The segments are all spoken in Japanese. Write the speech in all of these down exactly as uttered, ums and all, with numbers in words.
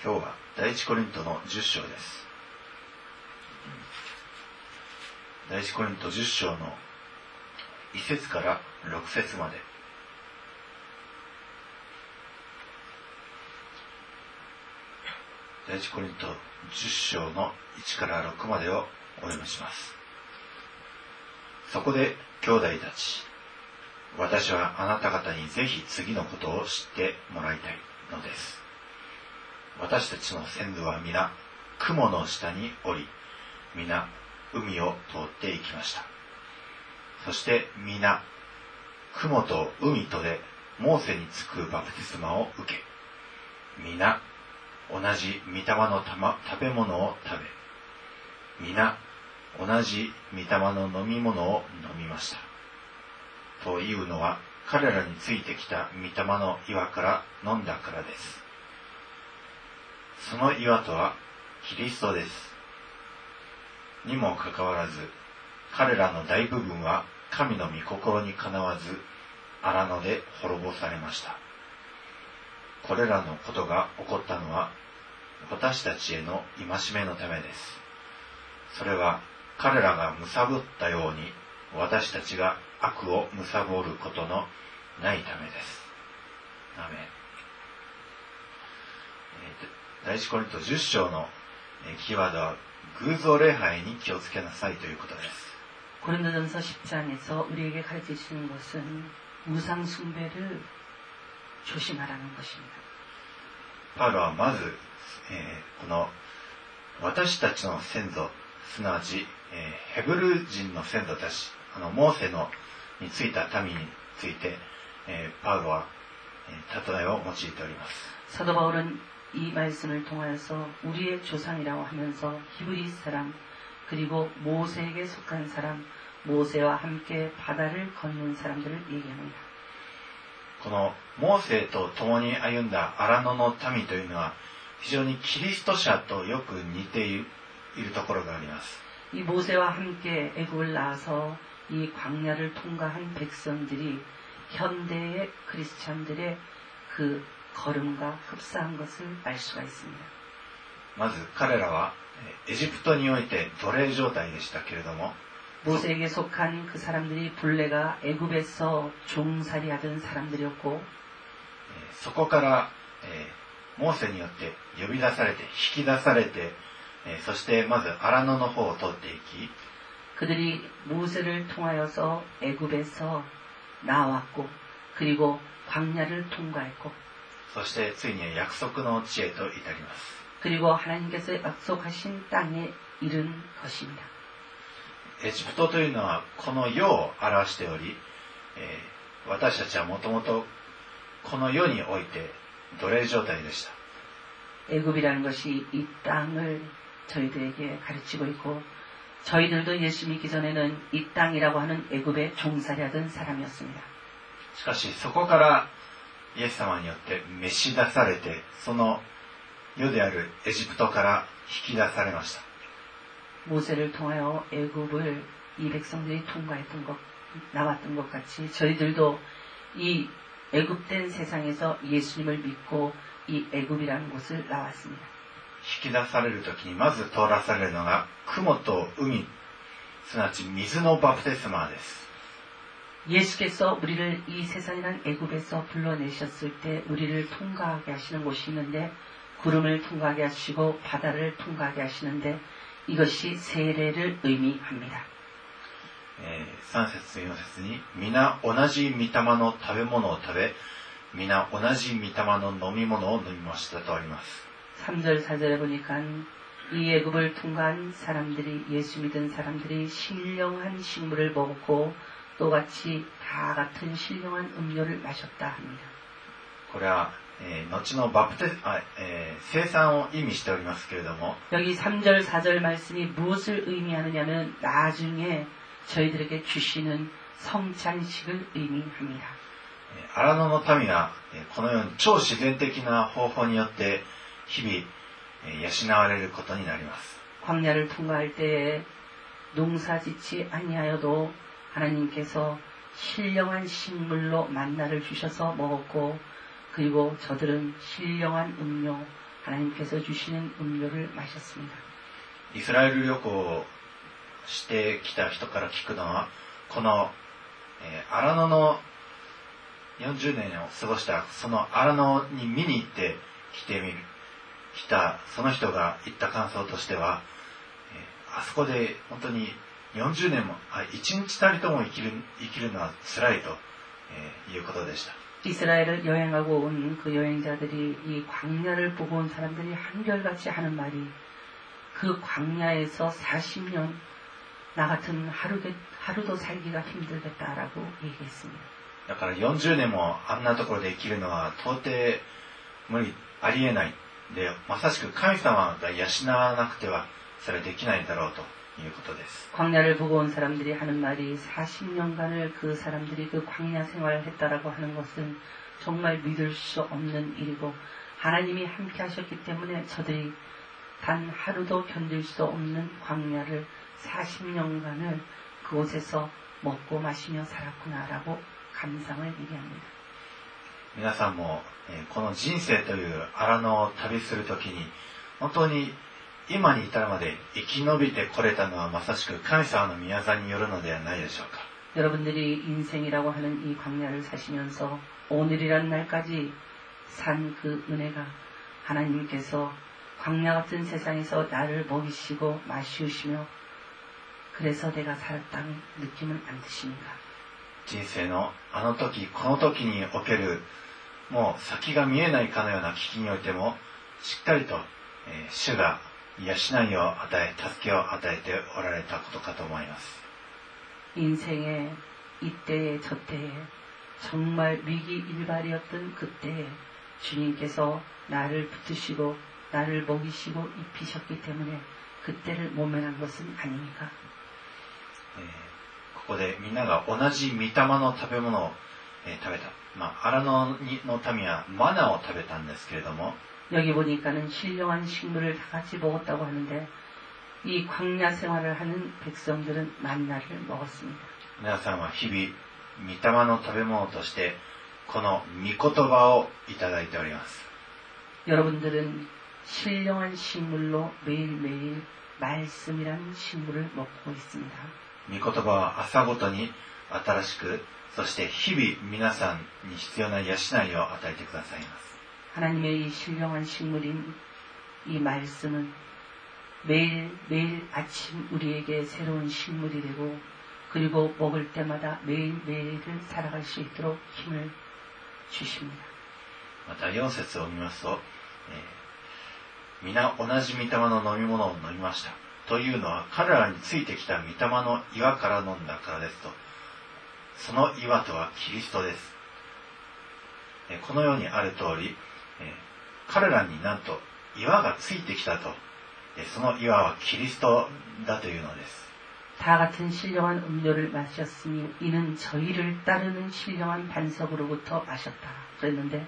今日は第一コリントのじゅっ章です。第一コリントじゅっ章のい節からろく節まで。第一コリントじゅっ章のいちからろくまでをお読みします。そこで兄弟たち、私はあなた方にぜひ次のことを知ってもらいたいのです。私たちの先祖は皆雲の下におり、皆海を通って行きました。そして皆雲と海とでモーセにつくバプテスマを受け、皆同じ御霊のた、ま、食べ物を食べ、皆同じ御霊の飲み物を飲みました。というのは彼らについてきた御霊の岩から飲んだからです。その岩とはキリストです。にもかかわらず、彼らの大部分は神の御心にかなわず、荒野で滅ぼされました。これらのことが起こったのは、私たちへの戒めのためです。それは彼らが貪ったように、私たちが悪を貪ることのないためです。アメン。第一コリントじゅっ章のキーワードは、偶像礼拝に気をつけなさいということです。 고린도전서 십 장에서 우리에게 가르치시는 것은 우상 숭배를 조심하라는 것입니다. パウロはまず、えー、この私たちの先祖、すなわち、えー、ヘブル人の先祖たち、あのモーセのについた民について、えー、パウロは、えー、例えを用いております。 사도 바울은 이 말씀을 통하여서 우리의 조상이라고 하면서 히브리 사람 그리고 모세에게 속한 사람, 모세와 함께 바다를 건넌 사람들을 얘기합니다. このモーセと共に歩んだ荒野の民というのは非常にキリスト者とよく似ているところがあります。 이 모세와 함께 애굽을 나와서 이 광야를 통과한 백성들이 현대의 크리스찬들의 그 걸음과 흡사한 것을 알 수가 있습니다. まず彼らはエジプトにおいて奴隷状態でしたけれども、 모세에게 속한 그 사람들이 본래가 애굽에서 종살이하던 사람들이었고, そこから、えー、モーセによって呼び出されて引き出されて、えー、そしてまず荒野の方を通っていき、 그들이 모세를 통하여서 애굽에서 나왔고, 그리고 광야를 통과했고, そしてついに約束の地へと至ります。 그리고 하나님께서 약속하신 땅에 이른 것입니다. エジプトというのはこの世を表しており、えー、私たちはもともとこの世において奴隷状態でした。 애굽이라는 것이 이 땅을 저희들에게 가르치고 있고, 저희들도 예수 믿기 전에는 이 땅이라고 하는 애굽에 종살이하던 사람이었습니다. しかしそこからイエス様によって召し出されて、その世であるエジプトから引き出されました。 모세를 통하여 애굽을 이 백성들이 통과했던 것, 나왔던 것 같이 저희들도 이 애굽된 세상에서 예수님을 믿고 이 애굽이라는 곳을 나왔습니다. 引き出されるときにまず通らされるのが雲と海、すなわち水のバプテスマです。 예수께서 우리를 이 세상이란 애굽에서 불러내셨을 때 우리를 통과하게 하시는 곳이 있는데, 구름을 통과하게 하시고 바다를 통과하게 하시는데, 이것이 세례를 의미합니다. さん節よん節に皆同じ御霊の食べ物を食べ、皆同じ御霊の飲み物を飲みましたとあります。 삼 절 사 절에 보니까 이 애굽을 통과한 사람들이, 예수 믿은 사람들이 신령한 식물을 먹었고 똑같이 다 같은 신령한 음료를 마셨다 합니다. これは、えー、後のバプテス、あ、えー、生産を意味しておりますけれども、 여기 삼 절 사 절 말씀이 무엇을 의미하느냐면 나중에 저희들에게 주시는 성찬식을 의미합니다. 荒野の民がこのように超自然的な方法によって日々養われることになります。 광야를 통과할 때에 농사짓지 아니하여도 하나님께서 신령한 식물로 만나를 주셔서 먹었고, 그리고 저들은 신령한 음료, 하나님께서 주시는 음료를 마셨습니다. イスラエル旅行をしてきた人から聞くのは、この、えー、荒野のよんじゅうねんを過ごしたその荒野に見に行って来てみる来たその人が言った感想としては、えー、あそこで本当によんじゅうねんもあいちにちたりとも生きる生きるのは辛いと、えー、いうことでした。 이스라엘을 여행하고 온 그 여행자들이 이 광야를 보고 온 사람들이 한결같이 하는 말이 그 광야에서 사십 년 나 같은 하루, 하루도 살기가 힘들겠다라고 얘기했습니다. だからよんじゅうねんもあんなところで生きるのは到底無理ありえないで、まさしく神様が養わなくてはそれはできないだろうということです。 광야를 보고 온 사람들이 하는 말이 사십 년간을 그 사람들이 그 광야 생활을 했다라고 하는 것은 정말 믿을 수 없는 일이고 하나님이 함께 하셨기 때문에 저들이 단 하루도 견딜 수 없는 광야를 사십 년간을 그곳에서 먹고 마시며 살았구나라고 감상을 얘기합니다. 皆さんも、えー、この人生という荒野を旅するときに本当に今に至るまで生き延びてこれたのはまさしく神様の御業によるのではないでしょうか。 여러분들이 인생이라고 하는 이 광야를 사시면서 오늘이란 날까지 산 그 은혜가 하나님께서 광야 같은 세상에서 나를 먹이시고 마시우시며 그래서 내가 살았다는 느낌은 안 드십니까? 人生のあの時この時におけるもう先が見えないかのような危機においてもしっかりと、えー、主が養いを与え助けを与えておられたことかと思います。 인생의 이때에 저때에 정말 위기일발이었던 그때에 주님께서 나를 붙드시고 나를 먹이시고 입히셨기 때문에 그때를 모면한 것은 아닙니까? えー、ここでみんなが同じ御霊の食べ物を、えー、食べた。まあ、荒野の民はマナを食べたんですけれども 여기 보니까는 신령한 식물을 다 같이 먹었다고 하는데 이 광야 생활을 하는 백성들은 만나를 먹었습니다. 皆さんは日々御霊の食べ物としてこの御言葉をいただいております。 여러분들은 신령한 식물로 매일매일 말씀이라는 식물을 먹고 있습니다. 御言葉は朝ごとに新しくそして日々皆さんに必要な養いを与えてくださいます。 하나님의 이 신령한 식물인 이 말씀은 매일매일 아침 우리에게 새로운 식물이 되고 그리고 먹을 때마다 매일매일을 살아갈 수 있도록 힘을 주십니다. またよん節を見ますと、えー、皆同じ御霊の飲み物を飲みました。というのは彼らについてきた御霊の岩から飲んだからですと。その岩とはキリストです。えー、このようにある通り、えー、彼らになんと岩がついてきたと。えー、その岩はキリストだというのです。 다 같은 신령한 음료를 마셨으니 이는 저희를 따르는 신령한 반석으로부터 마셨다. 그랬는데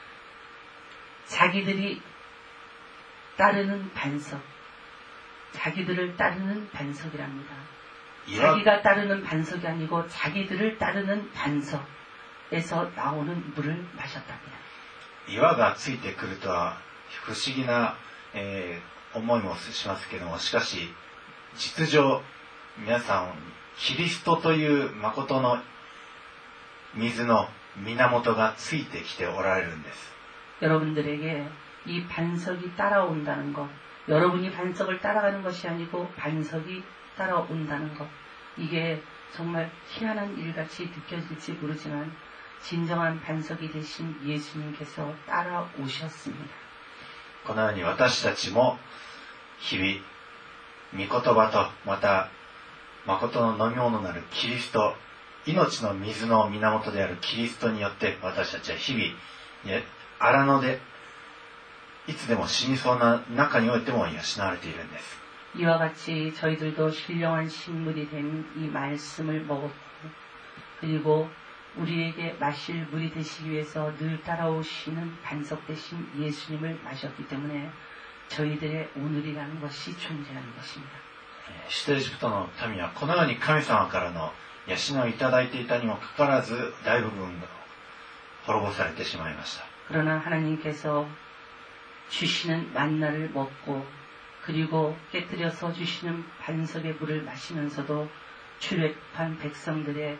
자기들이 따르는 반석, 자기들을 따르는 반석이랍니다. 자기가 따르는 반석이 아니고 자기들을 따르는 반석에서 나오는 물을 마셨답니다. 岩がついてくるとは不思議な、えー、思いもしますけども、しかし実情皆さんキリストという誠の水の源がついてきておられるんです。 여러분들에게 이 반석이 따라온다는 것, 여러분이 반석을 따라가는 것이 아니고 반석이 따라온다는 것, 이게 정말 희한한 일같이 느껴질지 모르지만 진정한 반석이 되신 예수님께서 따라오셨습니다. このように私たちも日々御言葉とまた誠の飲み物なるキリスト、命の水の源であるキリストによって私たちは日々荒野でいつでも死にそうな中においても養われているんです。 이와 같이 저희들도 신령한 식물이 된 이 말씀을 먹었고 그리고 우리에게 마실 물이 되시기 위해서 늘 따라오시는 반석 되신 예수님을 마셨기 때문에 저희들의 오늘이라는 것이 존재하는 것입니다. 出エジプトの民はこのように神様からの養いをいただいていたにもかかわらず大部分が滅ぼされてしまいました。 그러나 하나님께서 주시는 만나를 먹고 그리고 깨뜨려서 주시는 반석의 물을 마시면서도 출애굽한 백성들의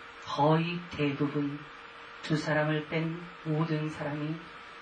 거의 대부분 두 사람을 뺀 모든 사람이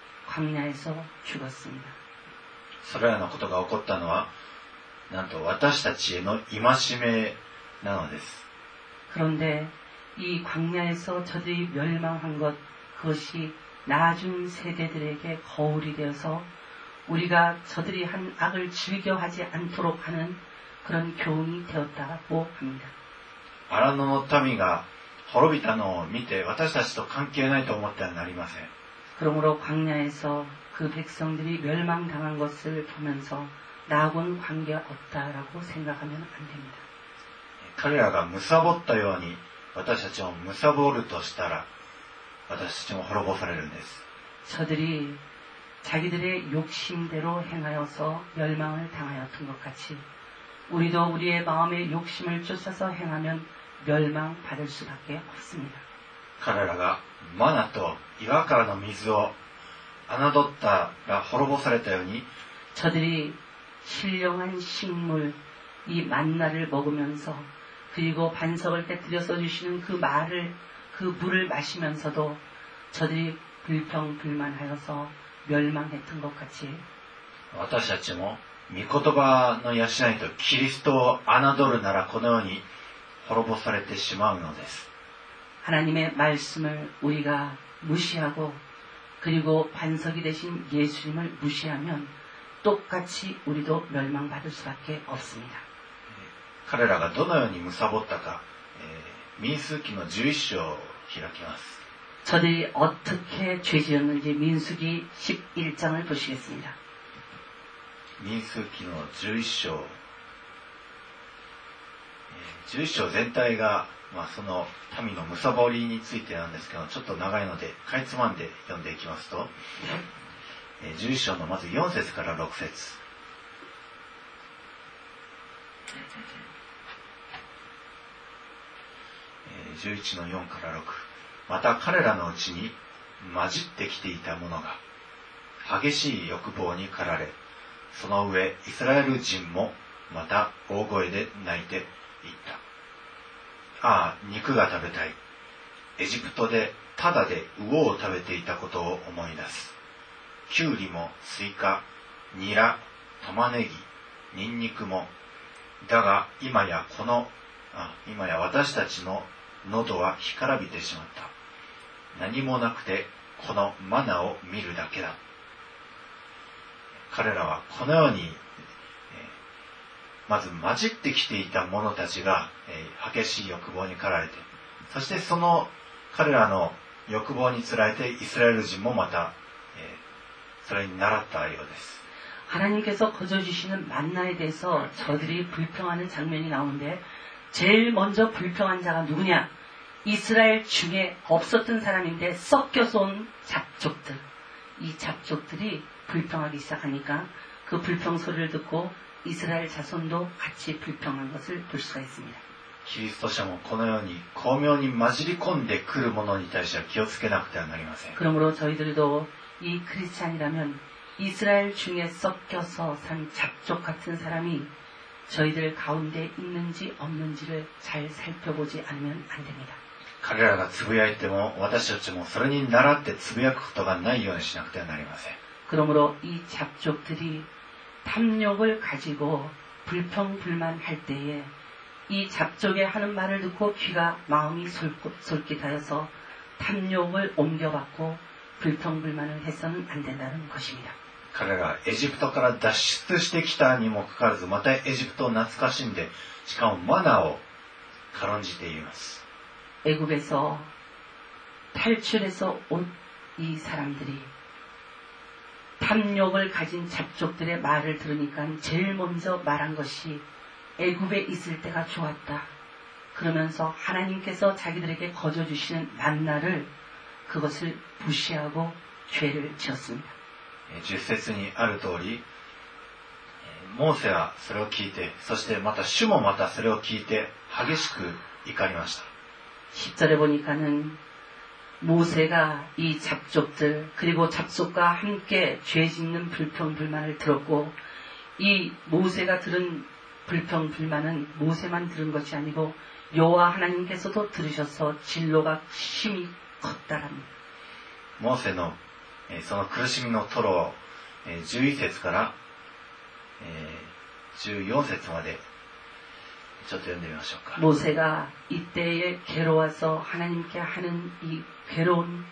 광야에서 죽었습니다. それらのことが起こったのは、なんと私たちへの戒めなのです。 그런데 이 광야에서 저들이 멸망한 것, 그것이 나중 세대들에게 거울이 되어서 우리가 저들이 한 악을 즐겨하지 않도록 하는 그런 교훈이 되었다고 합니다. 荒野の民が滅びたのを見て私たちと関係ないと思ってはなりません。 그러므로 광야에서 그 백성들이 멸망당한 것을 보면서 나하고는 관계없다라고 생각하면 안 됩니다. 彼らが貪ったように私たちも貪るとしたら私たちも滅ぼされるんです。 저들이 자기들의 욕심대로 행하여서 멸망을 당하였던 것 같이 우리도 우리의 마음의 욕심을 쫓아서 행하면 멸망받을 수밖에 없습니다. 彼らがマナと岩からの水を侮ったら滅ぼされたように 저들이 신령한 식물, 이 만나를 먹으면서 그리고 반석을 깨뜨려서 주시는 그 말을, 그 물을 마시면서도 저들이 불평불만하여서 멸망했던 것 같이 私たちも御言葉の養いとキリストを侮るならこのように滅ぼされてしまうのです。 하나님의 말씀을 우리가 무시하고 그리고 반석이 되신 예수님을 무시하면 똑같이 우리도 멸망받을 수밖에 없습니다. 彼らがどのように貪ったか、えー、民数記のじゅういっ章を開きます。 저들이 어떻게 죄지었는지 민수기 십일 장을 보시겠습니다. 民数記のじゅういっ章、えー、じゅういっ章全体が、まあ、その民の貪りについてなんですけど、ちょっと長いのでかいつまんで読んでいきますと、えー、じゅういっ章のまずよん節からろく節、えー、じゅういちのよんからろく、また彼らのうちに混じってきていた者が激しい欲望に駆られ、その上イスラエル人もまた大声で泣いていった。ああ、肉が食べたい。エジプトでただで魚を食べていたことを思い出す。キュウリもスイカ、ニラ、玉ねぎ、ニンニクも。だが今やこのあ今や私たちの喉は干からびてしまった。何もなくてこのマナを見るだけだ。彼らはこのように、えー、まず混じってきていた者たちが、えー、激しい欲望に駆られて、そしてその彼らの欲望につられてイスラエル人もまた、えー、それに倣ったようです。 하나님께서 거저주시는 만나에 대해서 저들이 불평하는 장면이 나오는데 제일 먼저 불평한 자가 누구냐? 이스라엘 중에 없었던 사람인데 섞여서 온 잡족들. 이 잡족들이 불평하기 시작하니까 그 불평 소리를 듣고 이스라엘 자손도 같이 불평한 것을 볼 수가 있습니다. キリスト者もこのように巧妙に混じり込んでくるものに対しては気をつけなくてはなりません。 그러므로 저희들도 이 크리스찬이라면 이스라엘 중에 섞여서 산 잡족 같은 사람이 저희들 가운데 있는지 없는지를 잘 살펴보지 않으면 안 됩니다. 彼らがつぶやいても私たちもそれに倣ってつぶやくことがないようにしなくてはなりません。 그러므로 이 잡족들이 탐욕을 가지고 불평불만할 때에 이 잡족의 하는 말을 듣고 귀가 마음이 솔깃하여서 탐욕을 옮겨받고 불평불만을 해서는 안 된다는 것입니다. 彼らがエジプトから脱出してきたにもかかわらずまたエジプトを懐かしんでしかもマナを軽んじています。 애굽에서 탈출해서 온 이 사람들이 탐욕을 가진 잡족들의 말을 들으니까 제일 먼저 말한 것이 애굽에 있을 때가 좋았다. 그러면서 하나님께서 자기들에게 거저주시는 만나를 그것을 무시하고 죄를 지었습니다. じゅっ節にある通り、モーセはそれを聞いて、そしてまた主もまたそれを聞いて激しく怒りました。 십 절에 보니까는 모세가 이 잡족들 그리고 잡족과 함께 죄 짓는 불평불만을 들었고 이 모세가 들은 불평불만은 모세만 들은 것이 아니고 여호와 하나님께서도 들으셔서 진로가 심히 컸다랍니다. モーセの、えー、その苦しみのトロを、えー、じゅういち節から、えー、じゅうよん節までちょっと読んでみましょうか。 모세가 이때에 괴로워서 하나님께 하는 이 괴로운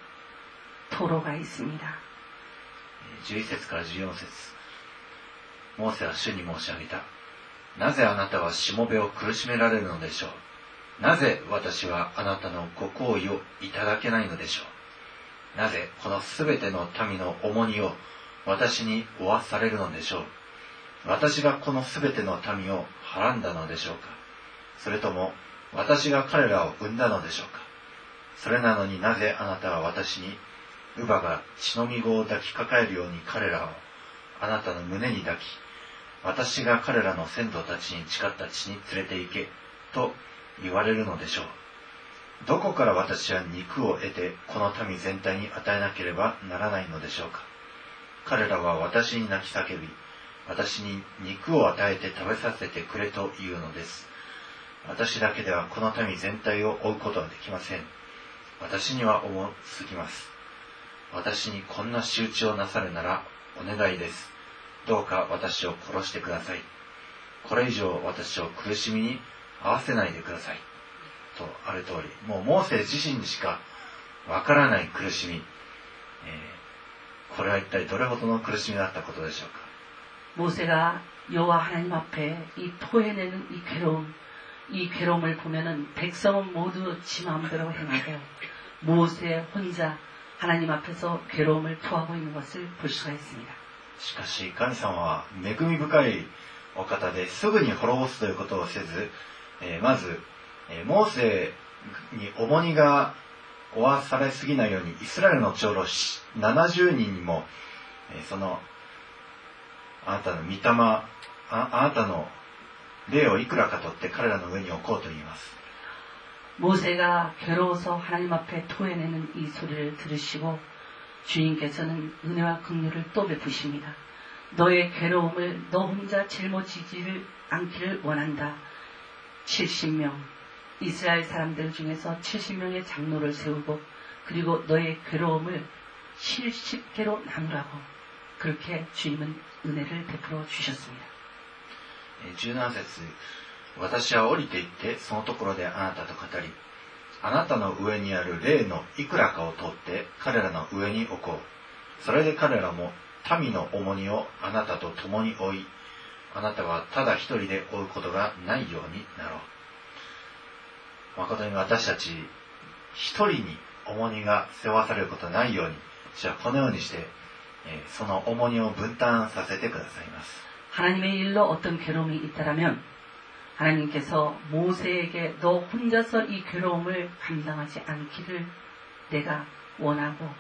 토로가 있습니다. じゅういち節からじゅうよん節。モーセは主に申し上げた。なぜあなたはしもべを苦しめられるのでしょう。なぜ私はあなたのご厚意をいただけないのでしょう。なぜこのすべての民の重荷を私に負わされるのでしょう。私がこのすべての民をはらんだのでしょうか。それとも私が彼らを生んだのでしょうか。それなのになぜあなたは私に乳母が血のみ子を抱きかかえるように彼らをあなたの胸に抱き、私が彼らの先祖たちに誓った地に連れて行けと言われるのでしょう。どこから私は肉を得てこの民全体に与えなければならないのでしょうか。彼らは私に泣き叫び、私に肉を与えて食べさせてくれと言うのです。私だけではこの民全体を追うことはできません。私には重すぎます。私にこんな仕打ちをなさるならお願いです。どうか私を殺してください。これ以上私を苦しみに合わせないでください。とある通り、もうモーセ自身にしかわからない苦しみ、えー、これは一体どれほどの苦しみだったことでしょうか。 모세가 여호와 하나님 앞에 이 토해내는 이 괴로움, 이 괴로움을 보면은 백성은 모두 지 마음대로 행하고 모세 혼자 하나님 앞에서 괴로움을 토하고 있는 것을 볼 수가 있습니다. しかし神様は恵み深いお方ですぐに滅ぼすということをせず、えー、まず、えー、モーセに重荷が負わされすぎないようにイスラエルの長老ななじゅうにんにも、えー、そのあなたの御霊 あ, あなたの霊をいくらか取って彼らの上に置こうと言います。 모세가 괴로워서 하나님 앞에 토해내는 이 소리를 들으시고 주님께서는 은혜와 긍휼을 또 베푸십니다. 너의 괴로움을 너 혼자 짊어지지를 않기를 원한다. 칠십 명 이스라엘 사람들 중에서 칠십 명의 장로를 세우고 그리고 너의 괴로움을 칠십 개로 나누라고 그렇게 주님은 은혜를 베풀어 주셨습니다. じゅうなな節、私は降りて行ってそのところであなたと語り、あなたの上にある霊のいくらかを取って彼らの上に置こう。それで彼らも民の重荷をあなたと共に負い、あなたはただ一人で負うことがないようになろう。誠に私たち一人に重荷が背負わされることがないように、主はこのようにして、えー、その重荷を分担させてくださいます。 하나님의 일로 어떤 괴로움이 있다라면 하나님께서 모세에게 너 혼자서 이 괴로움을 감당하지 않기를 내가 원하고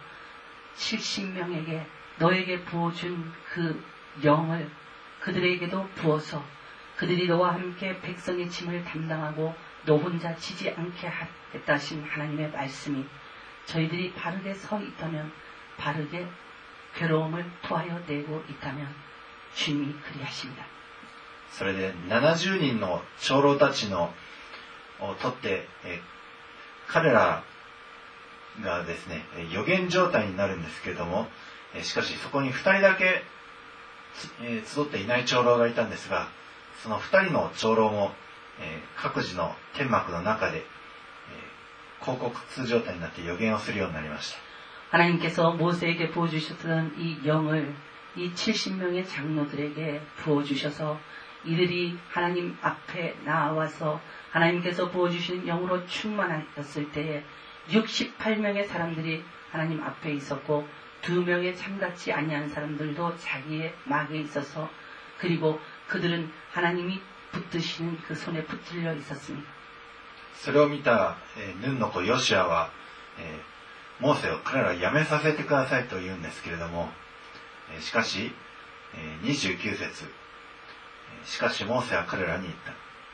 칠십 명에게 너에게 부어준 그 영을 그들에게도 부어서 그들이 너와 함께 백성의 짐을 담당하고 너 혼자 지지 않게 하겠다 하신 하나님의 말씀이 저희들이 바르게 서 있다면 바르게 괴로움을 토하여 내고 있다면 주님이 그리하십니다. それでななじゅうにんの長老たちのを取って、え彼らがですね預言状態になるんですけれども、えしかしそこにふたりだけ、え集っていない長老がいたんですが、そのふたりの長老も、え各自の天幕の中で、え広告通状態になって預言をするようになりました。 하나님께서 모세에게 부어주셨던 이 영을 이 칠십 명의 장로들에게 부어주셔서 이들이 하나님 앞에 나와서 하나님께서 부어주신 영으로 충만하였을 때에 육십팔 명의 사람들이 하나님 앞에 있었고 두 명의 참같이 아니한 사람들도 자기의 막에 있어서 그리고 그들은 하나님이 붙드시는 그 손에 붙들려 있었습니다. それを見た、えー、ヌンの子ヨシュアは、えー、モーセを彼らはやめさせてくださいと言うんですけれども、えー、しかし、えー、にじゅうきゅう節、しかしモーセは彼らに言った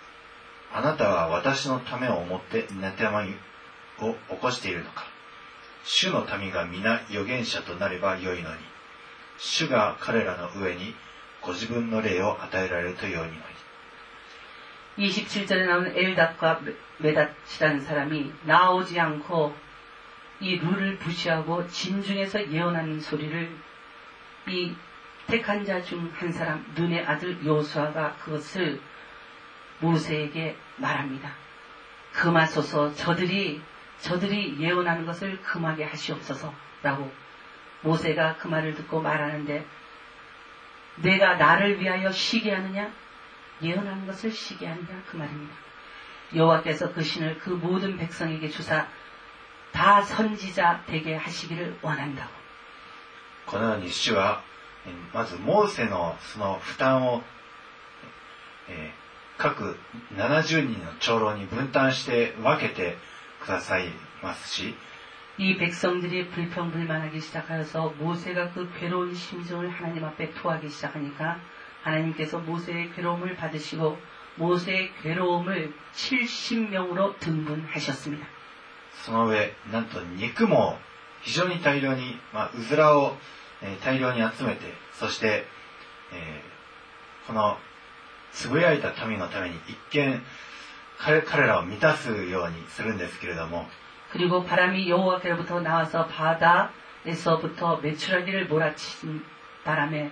。あなたは私のためを思って妬みを起こしているのか。 主の民が皆預言者となればよいのに、主が彼らの上にご自分の霊を与えられるとよいのに。 이십칠 절에 나오는 엘닷과 메닷이라는 사람이 나오지 않고 이 룰을 무시하고 진중에서 예언하는 소리를 이 택한 자 중 한 사람 눈의 아들 요수아가 그것을 모세에게 말합니다. 금하소서. 저들이 저들이 예언하는 것을 금하게 하시옵소서라고 모세가 그 말을 듣고 말하는데, 내가 나를 위하여 쉬게 하느냐? 예언하는 것을 쉬게 하느냐? 그 말입니다. 여호와께서 그 신을 그 모든 백성에게 주사 다 선지자 되게 하시기를 원한다고. このように主はまずモーセのその負担を、えー、各ななじゅうにんの長老に分担して分けてくださいますし、 이 백성들이 불평불만하기 시작하여서 모세가 그 괴로운 심정을 하나님 앞에 토하기 시작하니까 하나님께서 모세의 괴로움을 받으시고 모세의 괴로움을 칠십 명으로 등분하셨습니다. その上、なんと肉も非常に大量に、まあ、うずらを、えー、大量に集めて、そして、えー、このつぶやいた民のために一見 彼, 彼らを満たすようにするんですけれども、 그리고 바람이 여호와께로부터 나와서 바다에서부터 메추라기를 몰아치는 바람에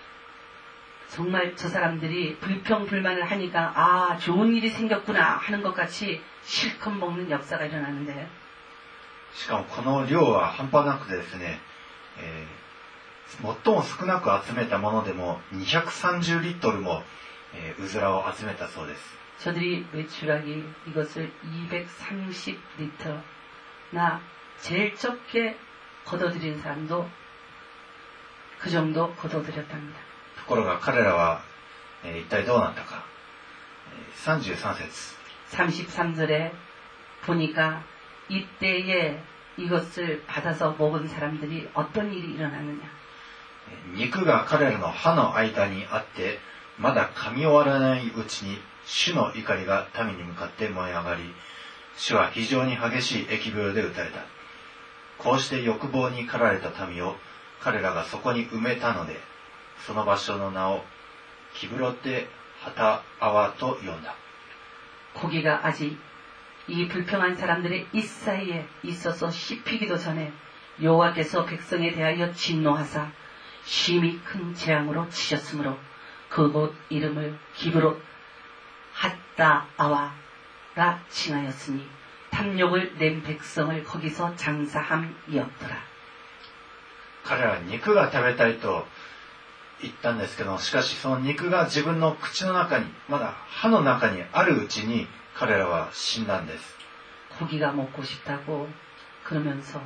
정말 저 사람들이 불평불만을 하니까 아 좋은 일이 생겼구나 하는 것 같이 실컷 먹는 역사가 일어나는데, しかもこの量は半端なくてですね、えー、最も少なく集めたものでもにひゃくさんじゅうリットルも、えー、うずらを集めたそうです。 저들이 메추라기 이것을 이백삼십 리터나 제일 적게 걷어들인 사람도 그 정도 걷어들였답니다. ところが彼らは、えー、一体どうなったか。さんじゅうさん節 삼십삼 절에 보니까 이때에 이것을 받아서 먹은 사람들이 어떤 일이 일어나느냐. 肉が彼らの歯の間にあってまだ噛み終わらないうちに主の怒りが民に向かって燃え上がり、主は非常に激しい疫病で打たれた。こうして欲望に駆られた民を彼らがそこに埋めたので、その場所の名をキブロテハタアワと呼んだ。 고기가 아직 이 불평한 사람들의 입 사이에 있어서 씹히기도 전에 여호와께서 백성에 대하여 진노하사 심히 큰 재앙으로 치셨으므로 그곳 이름을 기브롯 핫다아와라 칭하였으니 탐욕을 낸 백성을 거기서 장사함이었더라. 彼らは肉が食べたいと言ったんですけど、しかしその肉が自分の口の中に、まだ歯の中にあるうちに彼らは死んだんです。 고기가 먹고 싶다고 그러면서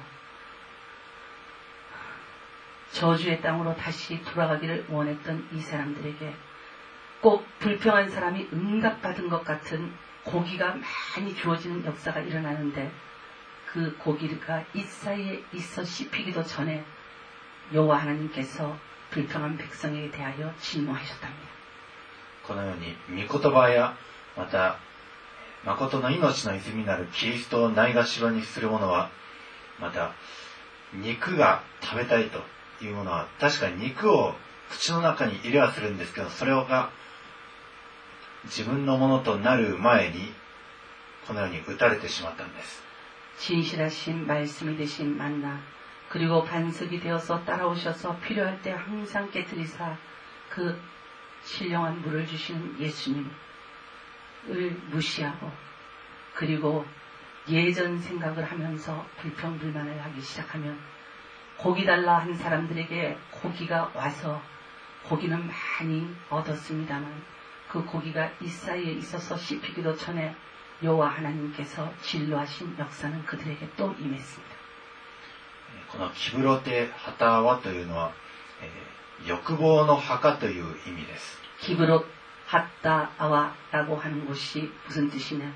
저주의 땅으로 다시 돌아가기를 원했던 이 사람들에게 꼭 불평한 사람이 응답받은 것 같은 고기가 많이 주어지는 역사가 일어나는데, 그 고기가 이 사이에 있어 씹히기도 전에 여호와 하나님께서 불평한 백성에 대하여 진노하셨답니다. このように御言葉やまた誠の命の泉なるキリストをないがしろにする者は、また肉が食べたいというものは確かに肉を口の中に入れはするんですけど、それが自分のものとなる前にこのように打たれてしまったんです。 진실하신 말씀이 되신 만나, 그리고 반석이 되어서 따라오셔서 필요할 때 항상 깨뜨리사 그 신령한 물을 주시는 예수님을 무시하고, 그리고 예전 생각을 하면서 불평불만을 하기 시작하면 고기 달라 한 사람들에게 고기가 와서 고기는 많이 얻었습니다만 그 고기가 이 사이에 있어서 씹히기도 전에 여호와 하나님께서 진노하신 역사는 그들에게 또 임했습니다. このキブロテハタワというのは、えー、欲望の墓という意味です。 기브롯 핫다아와라고 하는 곳이 무슨 뜻이냐?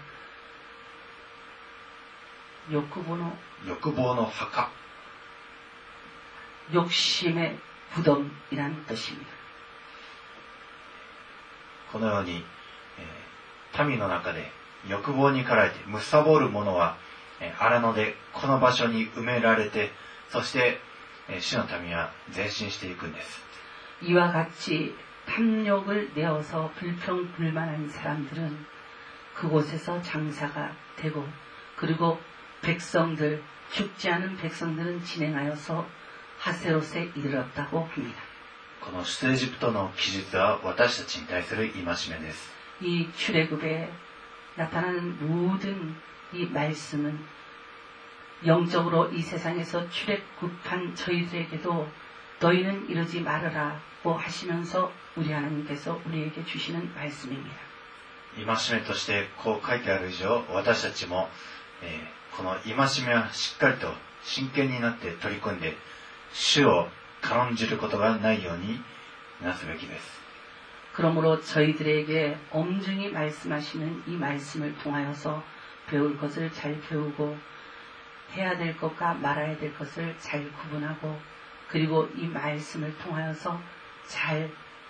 욕구보노, 欲望の墓、 욕심의 무덤이라는 뜻입니다. このように、えー、民の中で欲望に駆られて貪る者は荒野でこの場所に埋められて、そして主の民は前進していくんです。 이와 같이 탐욕을 내어서 불평불만한 사람들은 그곳에서 장사가 되고, 그리고 백성들, 죽지 않은 백성들은 진행하여서 하세롯에 이르렀다고 합니다. この出エジプトの記述は私たちに対する戒めです。 이 출애굽에 나타나는 모든 이 말씀은 영적으로 이 세상에서 출애굽한 저희들에게도 너희는 이러지 말으라고 하시면서 우리 하나님께서 우리에게 주시는 말씀입니다. 戒めとしてこう書いてある以上、私たちも、えー、この戒めはしっかりと真剣になって取り組んで、主を軽んじることがないようになすべきです。 그러므로 저희들에게 엄중히 말씀하시는 이 말씀을 통하여서 배울 것을 잘 배우고, 해야 될 것과 말아야 될 것을 잘 구분하고, 그리고 이 말씀을 통하여서 잘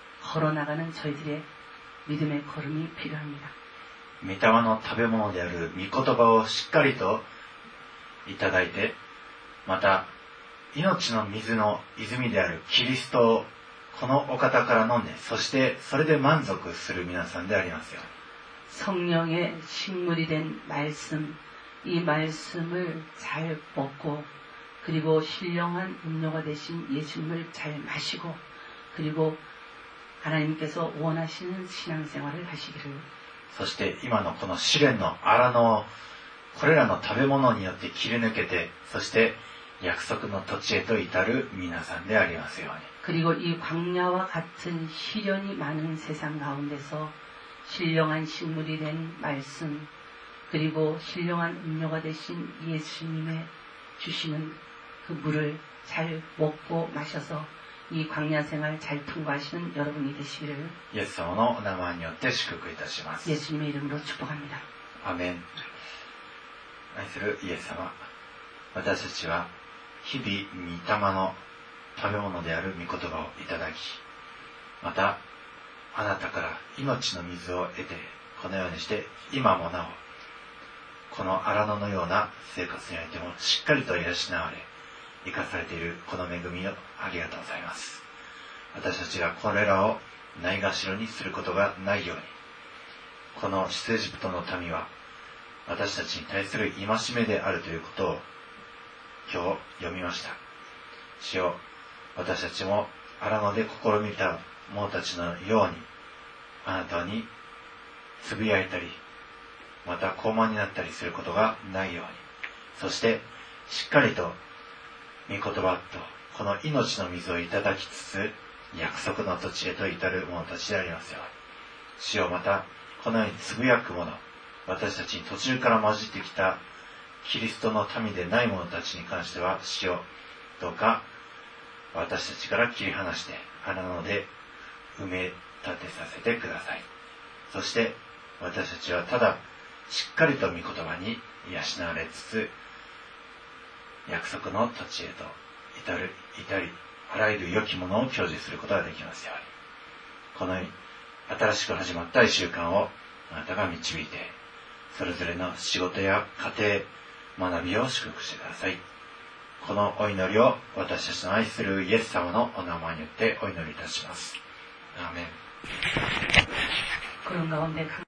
걸어나가는 저희들의 믿음의 걸음이 필요합니다. 御霊の食べ物である御言葉をしっかりといただいて、また命の水の泉であるキリストをこのお方から飲んで、そしてそれで満足する皆さんでありますように。 성령의 식물이 된 말씀, 이 말씀을 잘 먹고, 그리고 신령한 음료가 되신 예수님을 잘 마시고, 그리고 하나님께서 원하시는 신앙생활을 하시기를. そして今のこの試練の荒野をこれらの食べ物によって切り抜けて、そして約束の土地へと至る皆さんでありますように。 그리고 이 광야와 같은 시련이 많은 세상 가운데서 신령한 식물이 된 말씀, 그리고 신령한 음료가 되신 예수님의 주시는 그 물을 잘 먹고 마셔서 이 광야 생활 잘 통과하시는 여러분이 되시기를 イエス様のお名前によって祝福いたします。 예수님의 이름으로 축복합니다. アメン。愛するイエス様、私たちは日々御霊の食べ物である御言葉をいただき、またあなたから命の水を得て、このようにして今もなおこの荒野のような生活においてもしっかりと養われ生かされているこの恵みをありがとうございます。私たちがこれらをないがしろにすることがないように、この出エジプトの民は私たちに対する戒めであるということを今日読みました。主よ、私たちも荒野で試みた者たちのようにあなたにつぶやいたり、また高慢になったりすることがないように、そしてしっかりと御言葉とこの命の水をいただきつつ約束の土地へと至る者たちでありますように。主よ、またこのようにつぶやく者、私たちに途中から混じってきたキリストの民でない者たちに関しては、主よ、どうか私たちから切り離して荒野で埋め立てさせてください。そして私たちはただしっかりと御言葉に養われつつ、約束の土地へと至る至りあらゆる良きものを享受することができますように。この新しく始まったいっしゅうかんをあなたが導いて、それぞれの仕事や家庭、学びを祝福してください。このお祈りを私たちの愛するイエス様のお名前によってお祈りいたします。アーメン。